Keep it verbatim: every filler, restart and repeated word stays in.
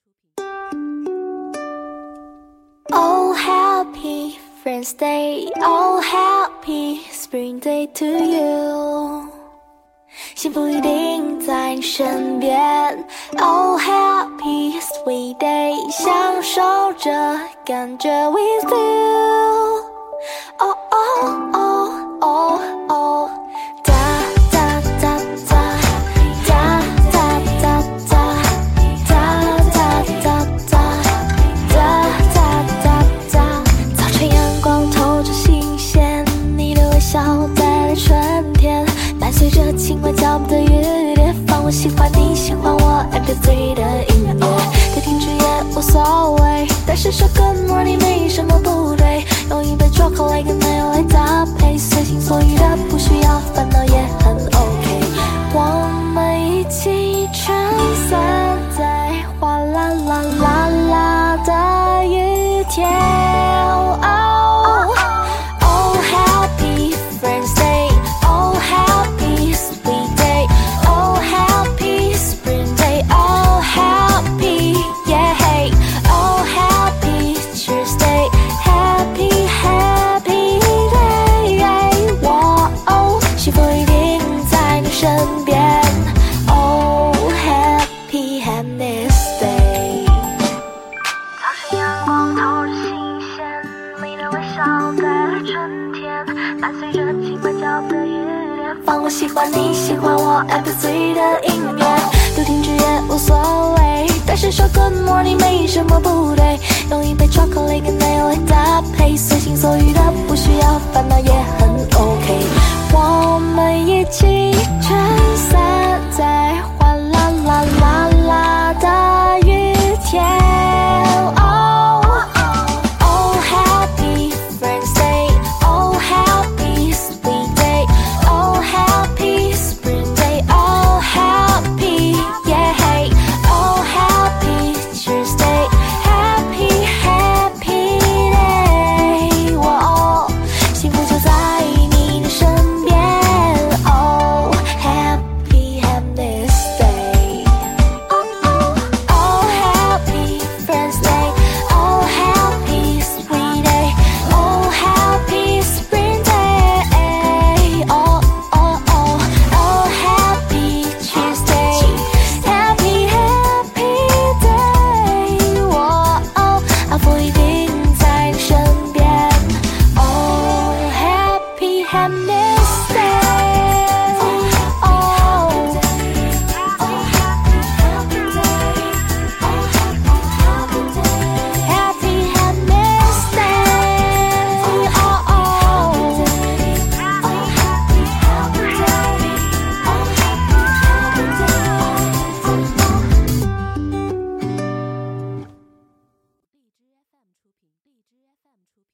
Oh happy Friends Day, oh happy Spring Day to you， 幸福一定在你身边。Oh happy Sweet Day， 享受着感觉 with you。 Oh oh oh oh oh， 哒哒哒哒哒哒哒哒哒哒哒哒哒哒哒。早晨阳光透着新鲜，你的微笑带来春天，伴随着轻快脚步的雨点，放我喜欢你喜欢我 M P 三 的音乐，该停止也无所谓，但是说 Good morning 没什么不对，用一杯 chocolate 跟奶油来搭配，随心所欲的不需要烦恼也很 OK， 我们一起撑伞在哗啦啦啦啦的雨天。Oh, oh happy Friends Day, oh happy Sweet Day, oh happy Spring Day, oh happy yeah, oh happy Tuesday, happy happy day， 我哦，幸福一定在你身边。Oh happy happiness day。 早晨阳光透着新鲜，你的微笑带来春天，伴随着轻快脚步的雨点，放我喜欢你喜欢我 M P 三 的音乐，不停止也无所谓，但是说 Good morning 没什么不对，用一杯 chocolate 跟奶油来搭配，随心所欲的不需要烦恼也很 OK， 我们一起